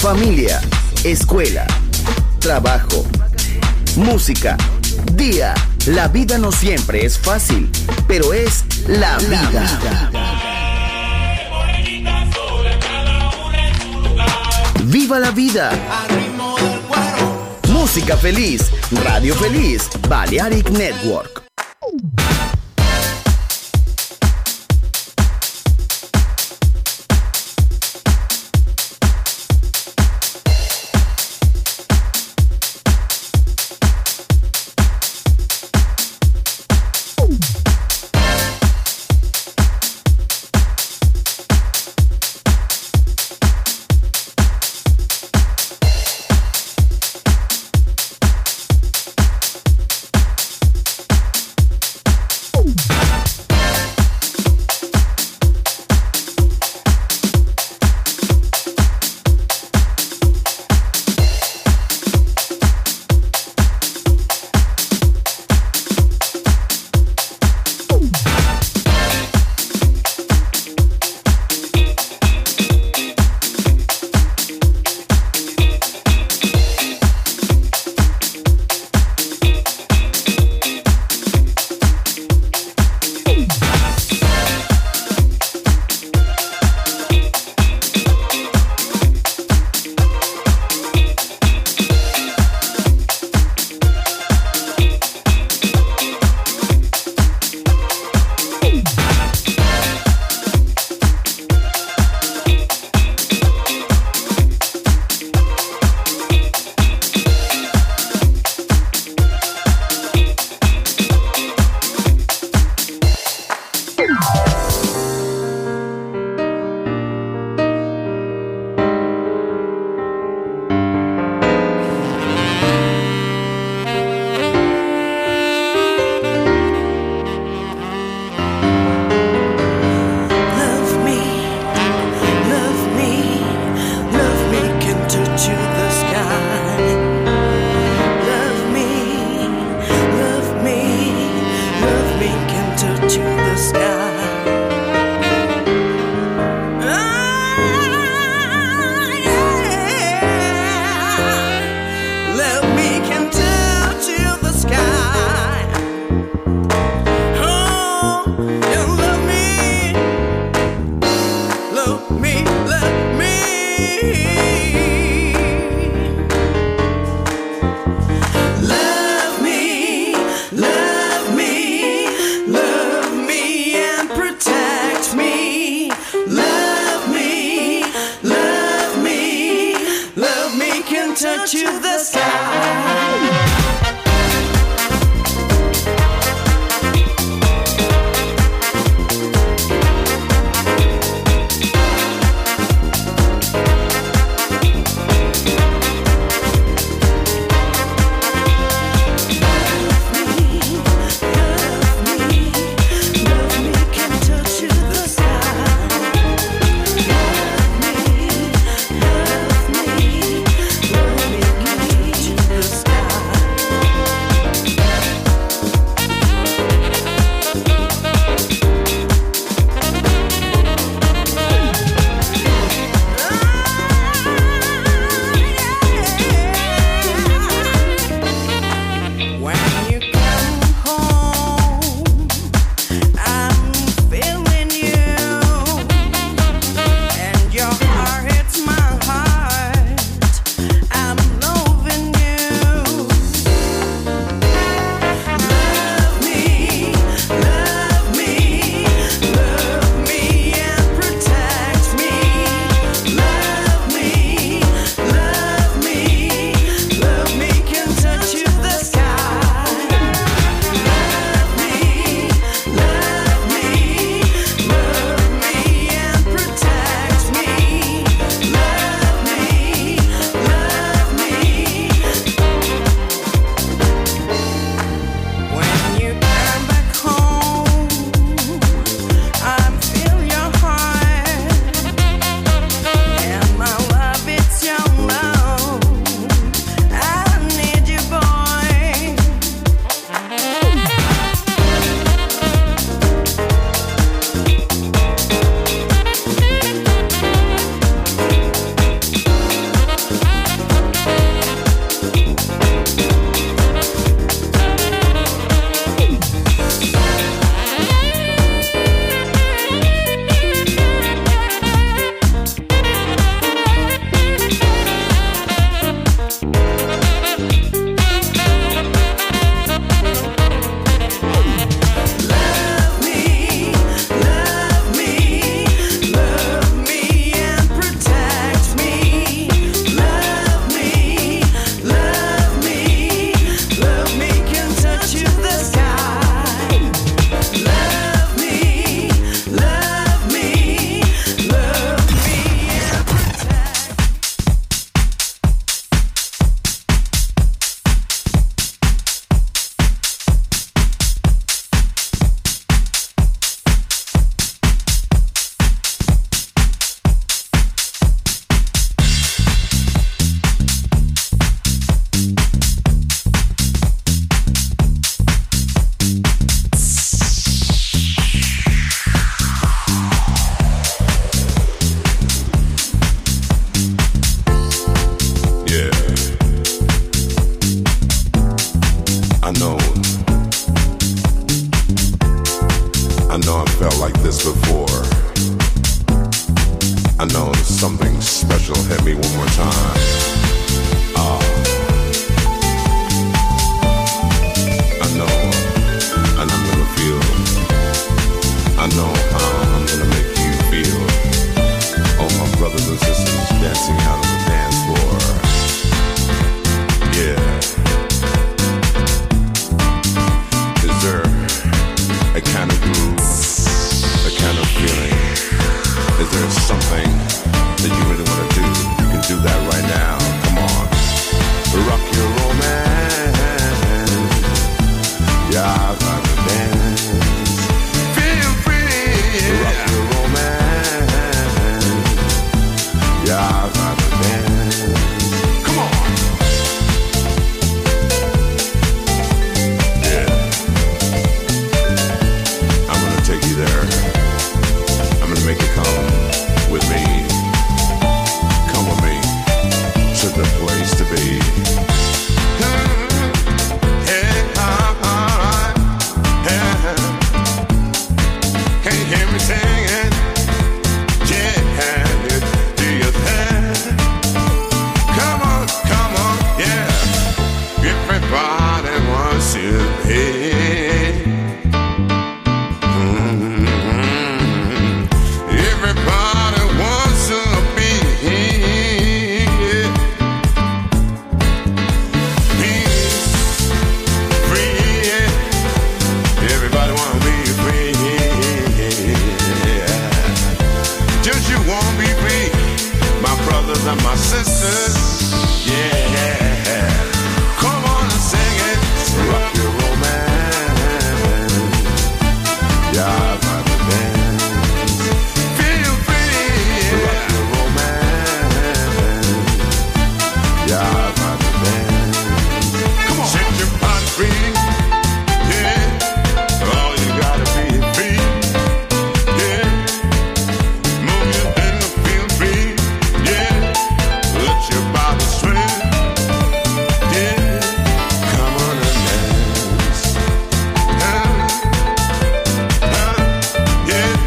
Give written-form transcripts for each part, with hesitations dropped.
familia, escuela, trabajo, música, día. La vida no siempre es fácil, pero es la vida. ¡Viva la vida! Música feliz, radio feliz, Balearic Network. The sky. know something special hit me one more time. I know, and I'm gonna feel. I know how I'm gonna make you feel. All my brothers and sisters dancing out on the dance floor. Yeah. Is there a kind of groove, a kind of feeling? Is there something that you really want to do? You can do that right now. Come on. Rock your romance. Yeah, I've got to dance. Feel free. Rock your romance. Yeah, I've got to dance. Come on. Yeah. I'm gonna take you there. I'm gonna make you come with me. Come with me to the place to be. Can you hear me singing? Yeah, do you think? Come on, yeah. Everybody wants to be. Everybody wants to be. Peace, free. Everybody wanna be free. Just you wanna be free, my brothers and my sisters. Yeah, come on and sing it. Rock your romance. Yeah, I've got to dance. Feel free. Rock your romance. Yeah, I've got to dance. Come on, set your body free. Yeah, oh, you gotta be free. Yeah, move your thing and feel free. Yeah, let your body swing. Yeah, come on and dance. Yeah,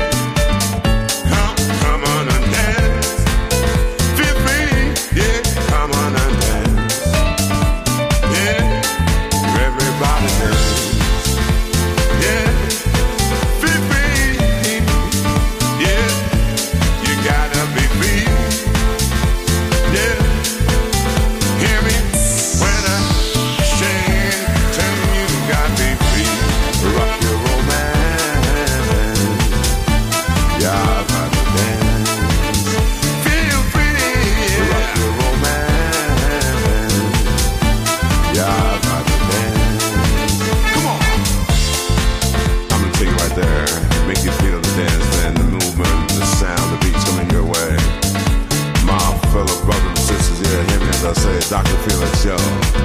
come on and dance. Feel free. Yeah, come on and dance. Yeah, everybody dance. Yeah, feel free. Yeah, you gotta be free. Yeah, hear me when I sing. Tell you gotta be free. Rock your romance. Yeah, I've got to dance. Feel free. Rock your romance. Yeah, I've got to dance. Come on. I'm gonna take you right there. Make you feel the dance, man, the movement, the sound, the beats coming your way. My fellow brothers and sisters, yeah, hear me as I say, Dr. Felix Show.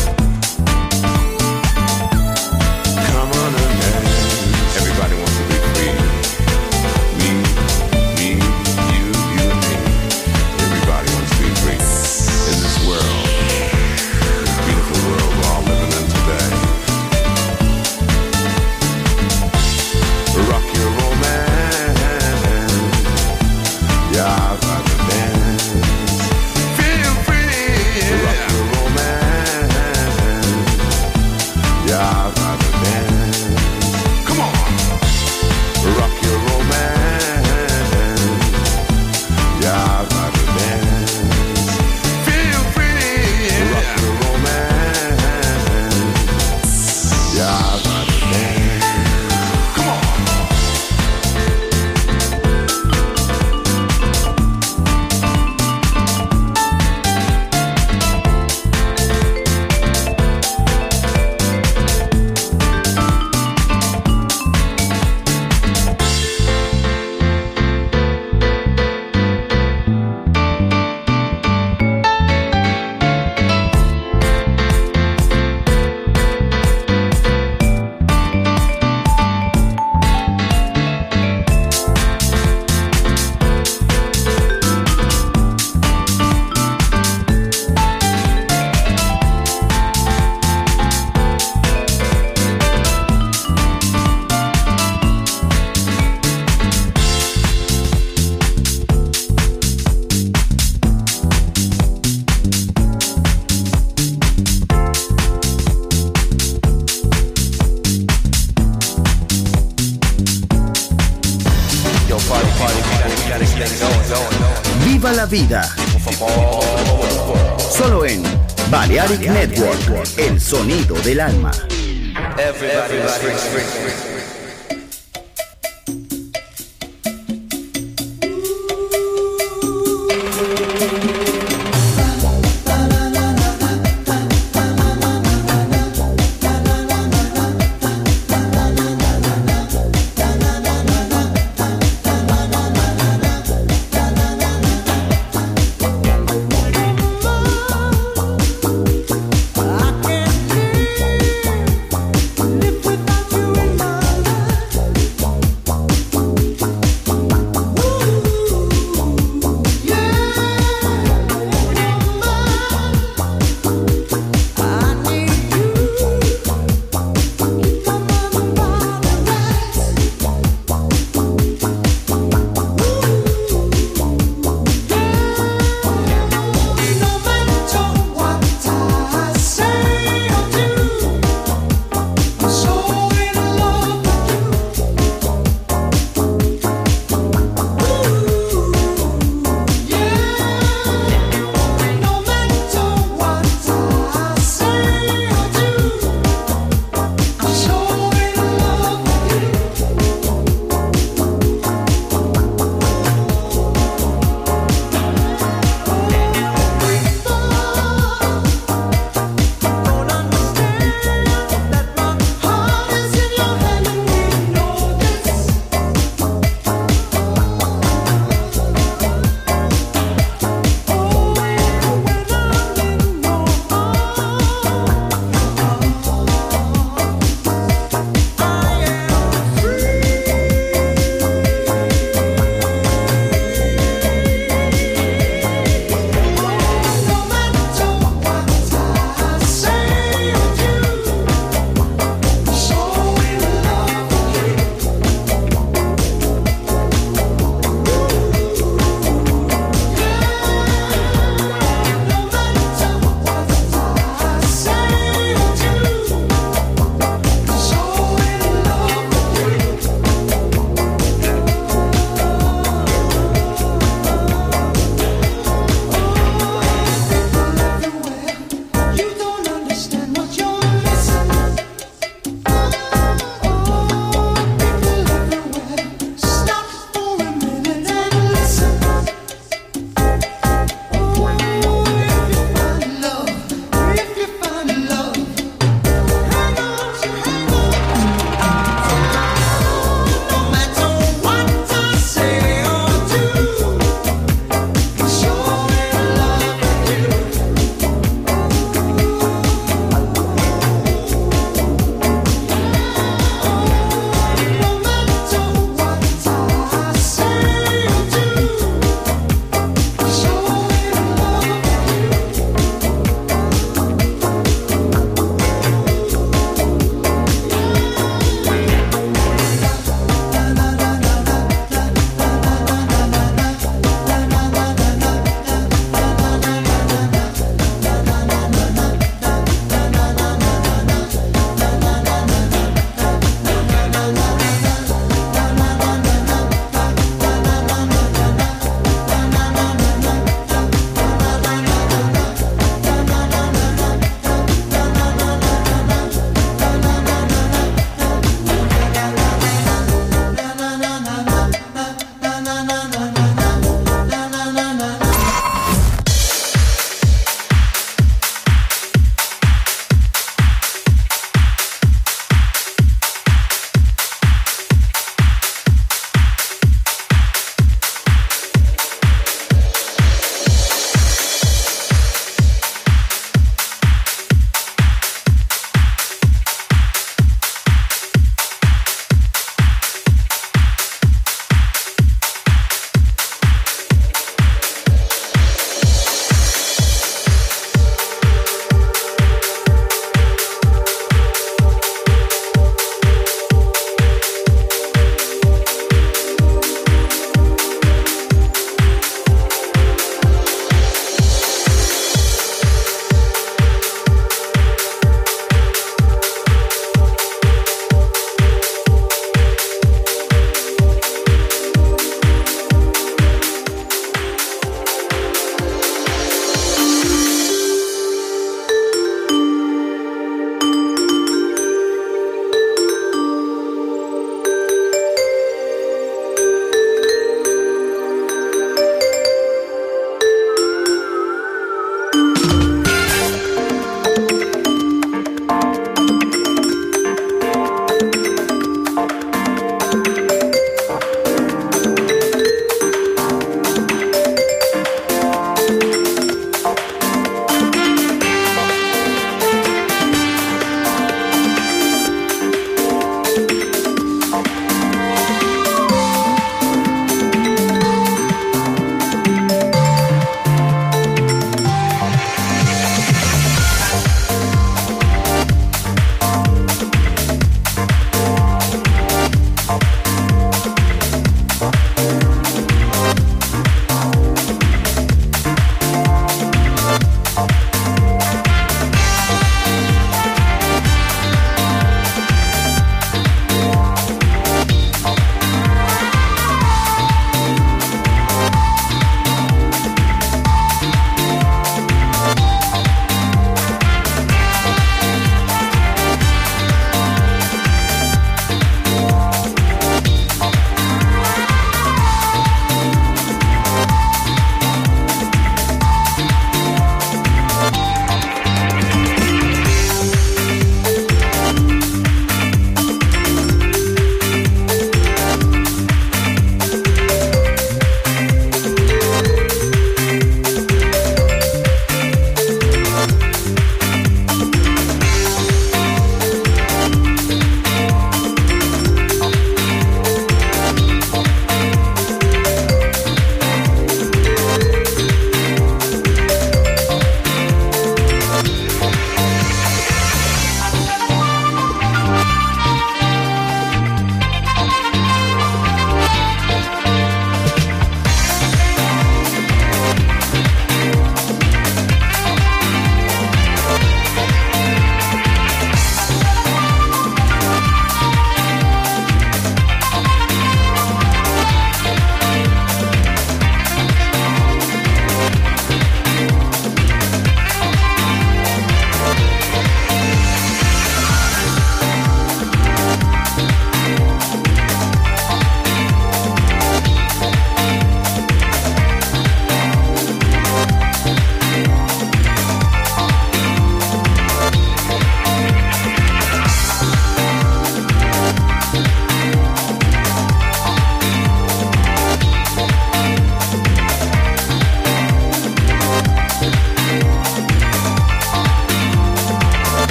Come on and dance. Everybody wants to be free. Me, you and me. Everybody wants to be free in this world, this beautiful world we're all living in today. Rock your romance. Yeah, I've got to dance. Feel free. Rock your romance. Yeah, I've got to dance. Come on. Rock your romance. Yeah, I've got to dance. Feel free. Rock your romance. Yeah, I've got to dance. Come on. Viva la vida. Solo en Balearic Network, el sonido del alma. I can't live without you in my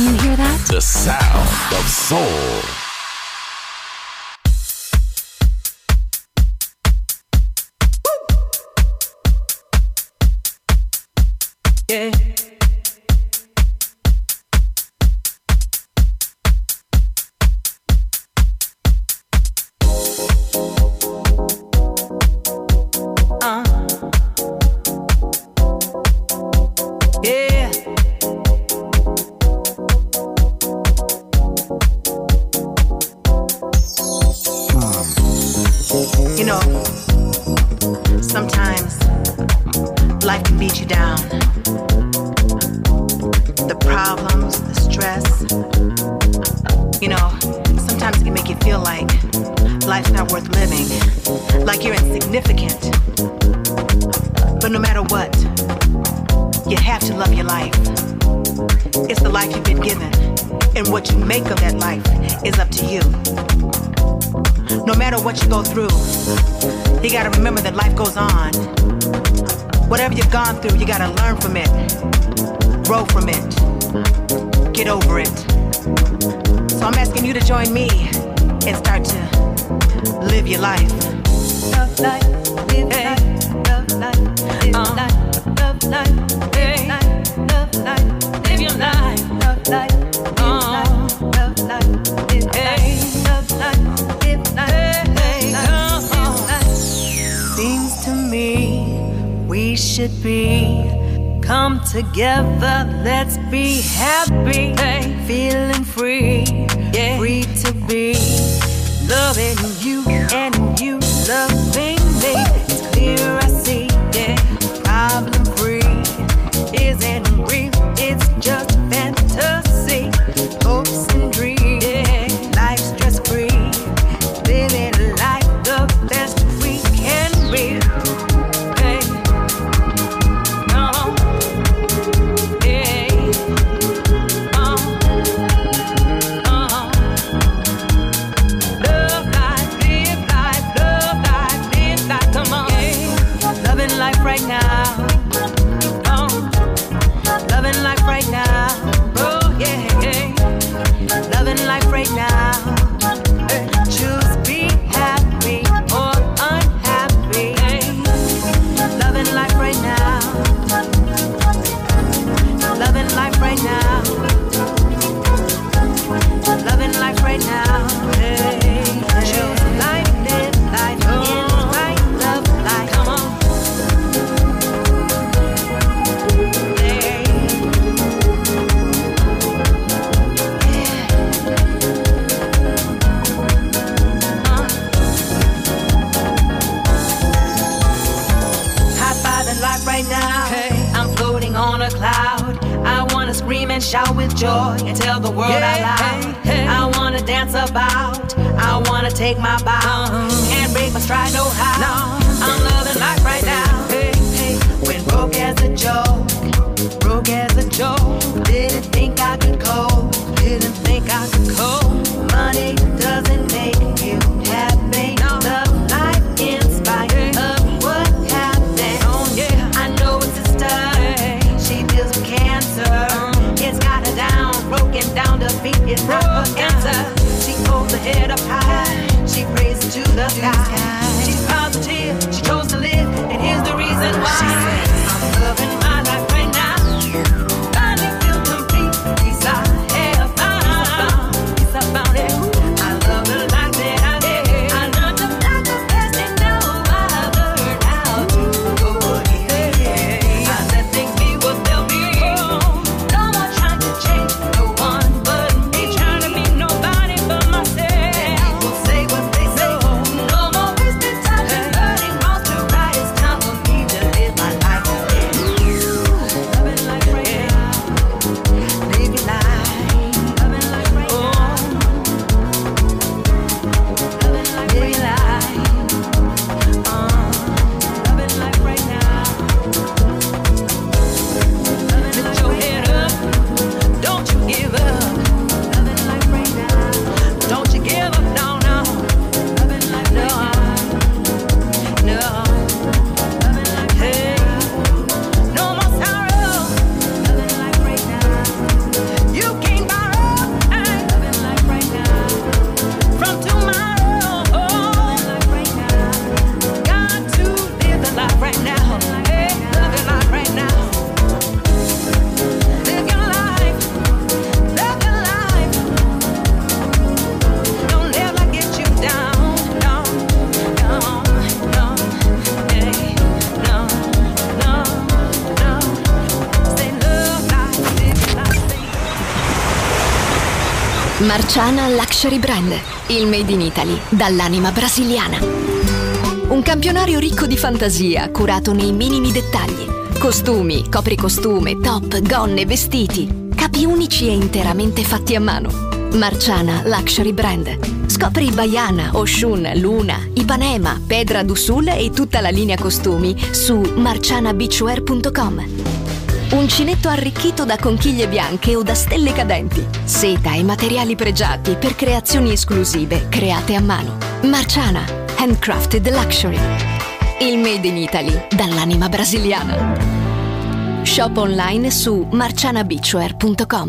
Can you hear that? The sound of soul. Yeah. You know, sometimes life can beat you down. The problems, the stress. You know, sometimes it can make you feel like life's not worth living, like you're insignificant. But no matter what, you have to love your life. It's the life you've been given, and what you make of that life is up to you. No matter what you go through, you gotta remember that life goes on. Whatever you've gone through, you gotta learn from it, grow from it, get over it. So I'm asking you to join me and start to live your life. Love life, live life, love life, live life, love life, live life, love life, live your life, love life, live life, love life, live life, love life. Seems to me we should be come together. Let's be happy, feeling free, free to be loving you and you loving me. It's clear I see, problem free isn't real. It's just fantasy, hopes and dreams, life stress free. Living life the best we can be. Hey, come on. Hey, love life, live life, love life, live life. Come on. Hey, loving life right now. Loving life right now. Oh yeah, loving life right now. Choose be happy or unhappy. Loving life right now. Loving life right now. Loving life right now. Choose life, live life, in right, love life. Come on. Right now, I'm floating on a cloud. I wanna scream and shout with joy and tell the world out loud. I wanna dance about. I wanna take my bow. Can't break my stride, no how. I'm loving life right now. When broke as a joke, broke as a joke. Didn't think I could cope. Didn't think I could cope. Money doesn't make you happy. Love life in spite of what happened. I know it's a stud. She deals with cancer. It's got her down, broken down. Defeat is not her answer. She holds her head up high. She prays to the sky. She's positive, Marciana Luxury Brand, il made in Italy dall'anima brasiliana. Un campionario ricco di fantasia, curato nei minimi dettagli. Costumi, copricostume, top, gonne, vestiti. Capi unici e interamente fatti a mano. Marciana Luxury Brand. Scopri Baiana, Oshun, Luna, Ipanema, Pedra do Sul e tutta la linea costumi su marcianabeachwear.com. Uncinetto arricchito da conchiglie bianche o da stelle cadenti. Seta e materiali pregiati per creazioni esclusive create a mano. Marciana, handcrafted luxury. Il made in Italy dall'anima brasiliana. Shop online su marcianabeachwear.com.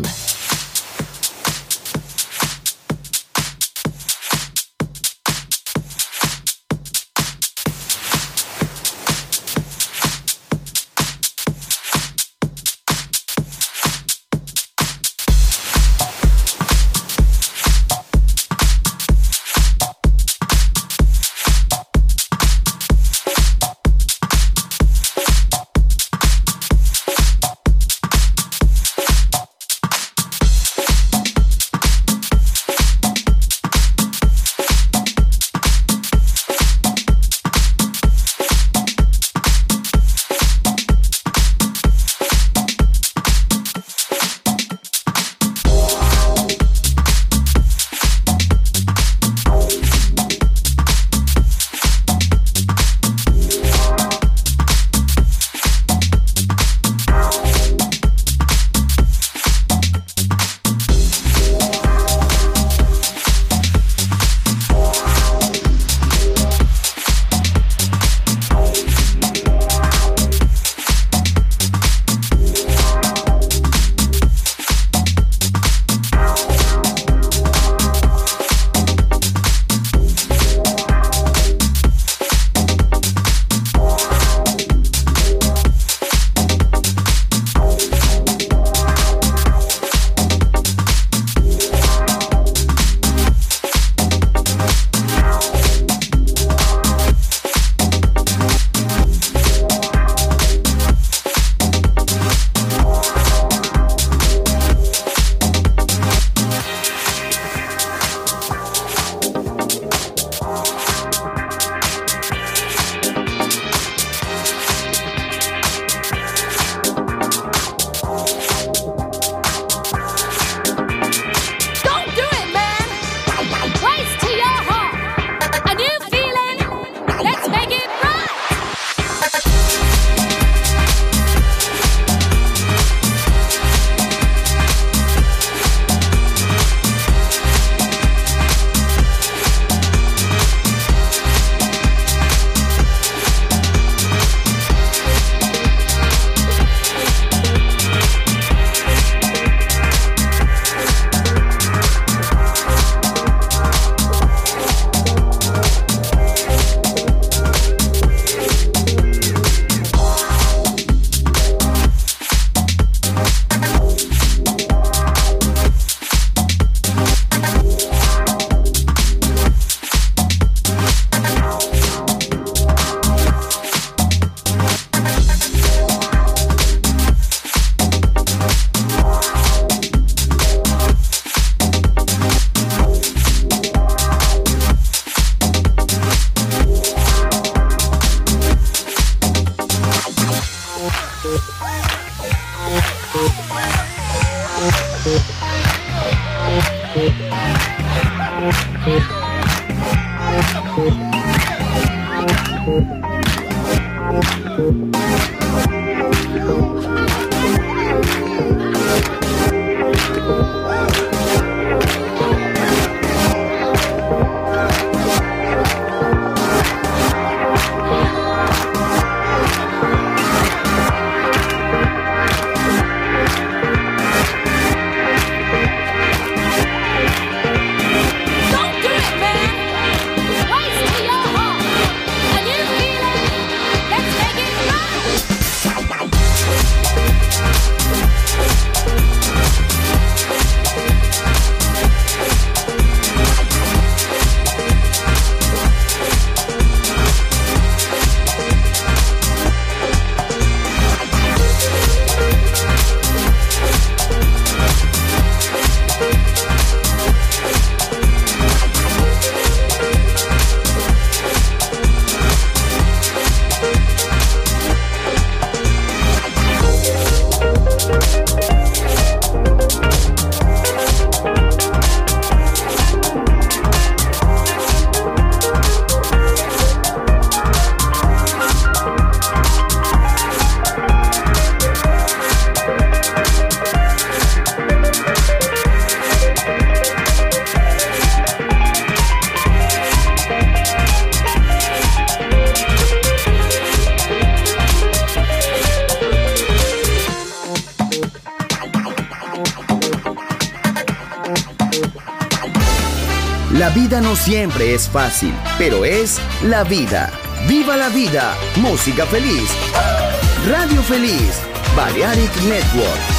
La vida no siempre es fácil, pero es la vida. ¡Viva la vida! Música feliz. Radio Feliz. Balearic Network.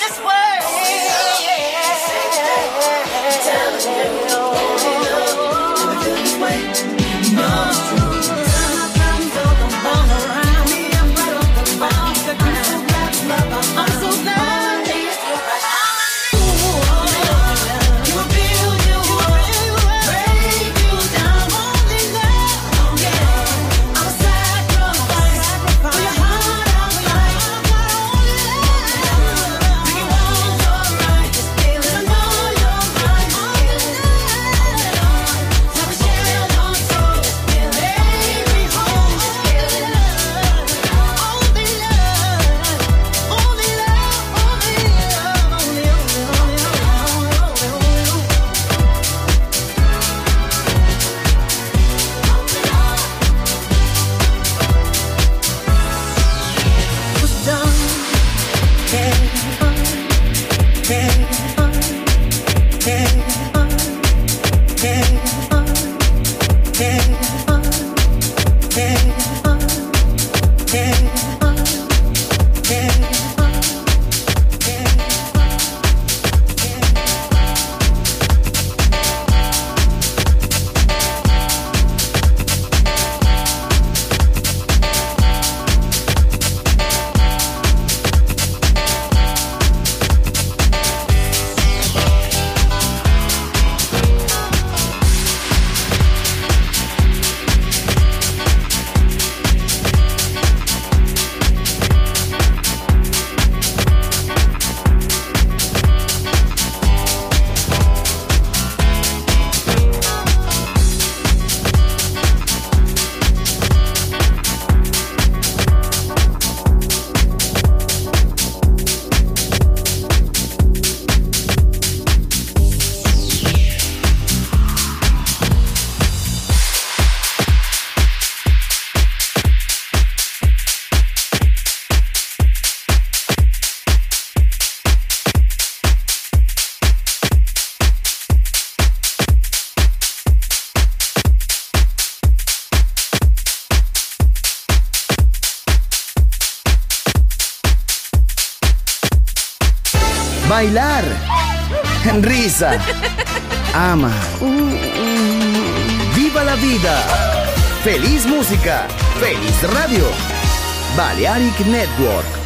Bailar, risa, ama, viva la vida, feliz música, feliz radio, Balearic Network.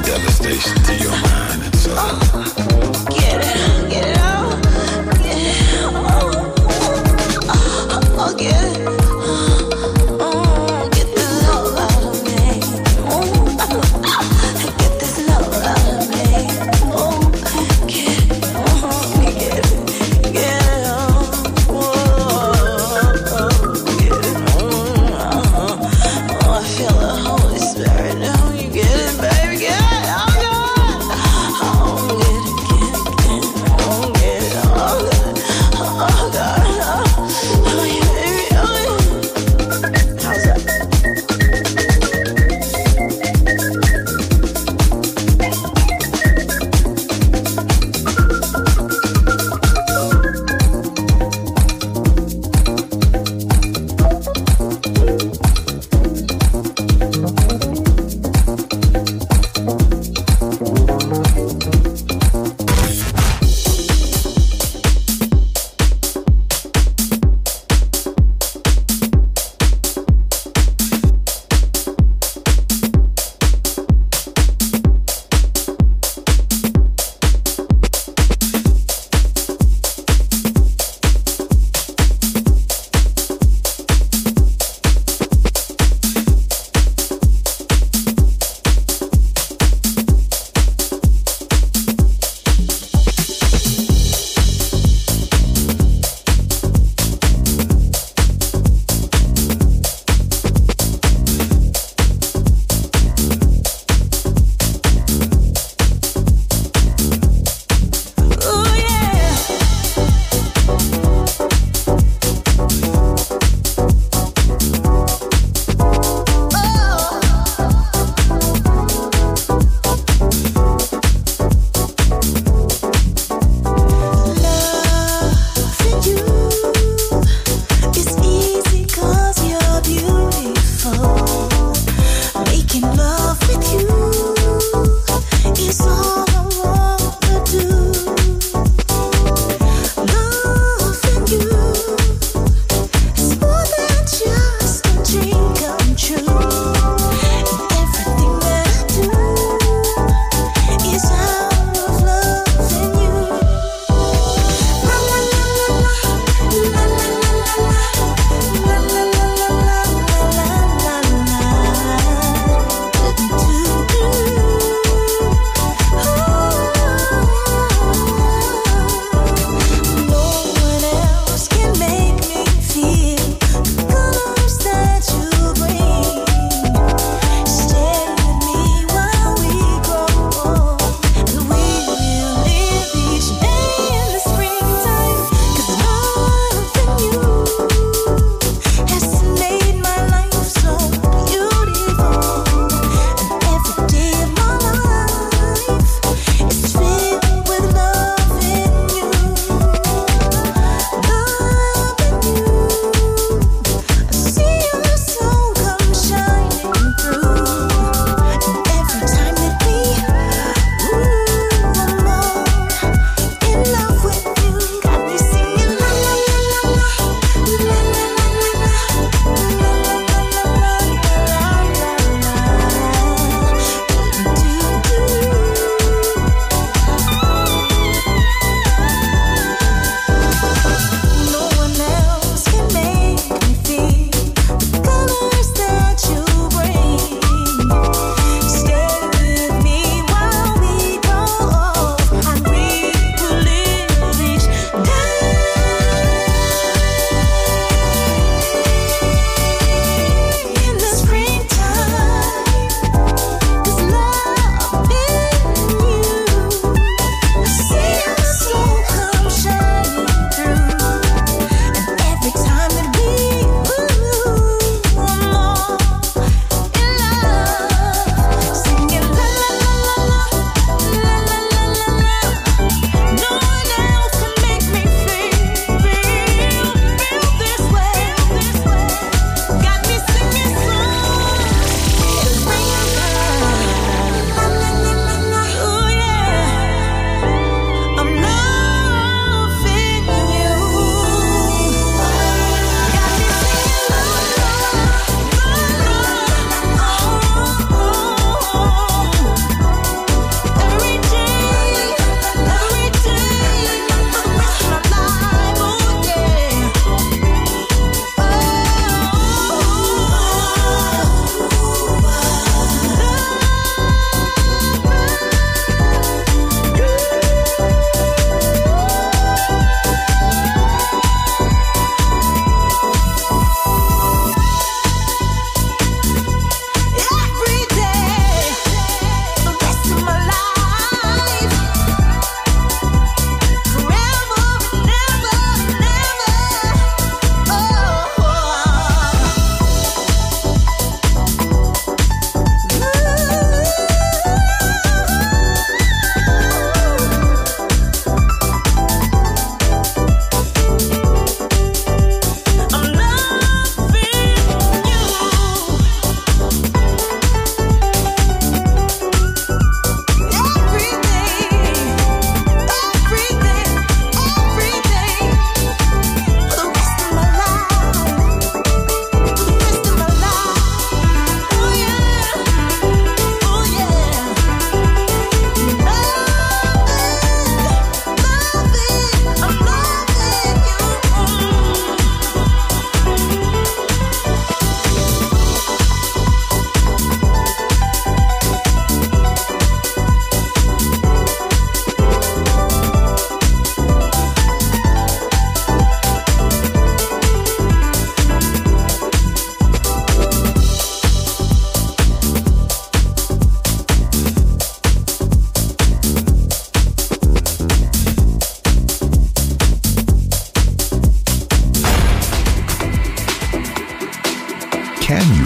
devastation to your mind and soul. Get it out, get it out. Get it. Get this love out of me. Get this love out of me. Get it, get it on. Get it on. I feel the Holy Spirit now. You get it, baby, get it. Oh, God. Oh, get it.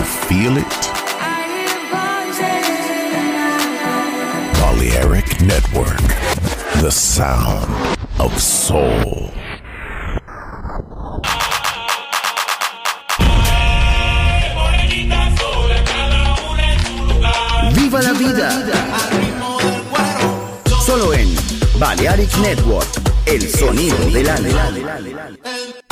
feel it? Balearic Network, the sound of soul. Viva la vida. Solo en Balearic Network, el sonido del alma.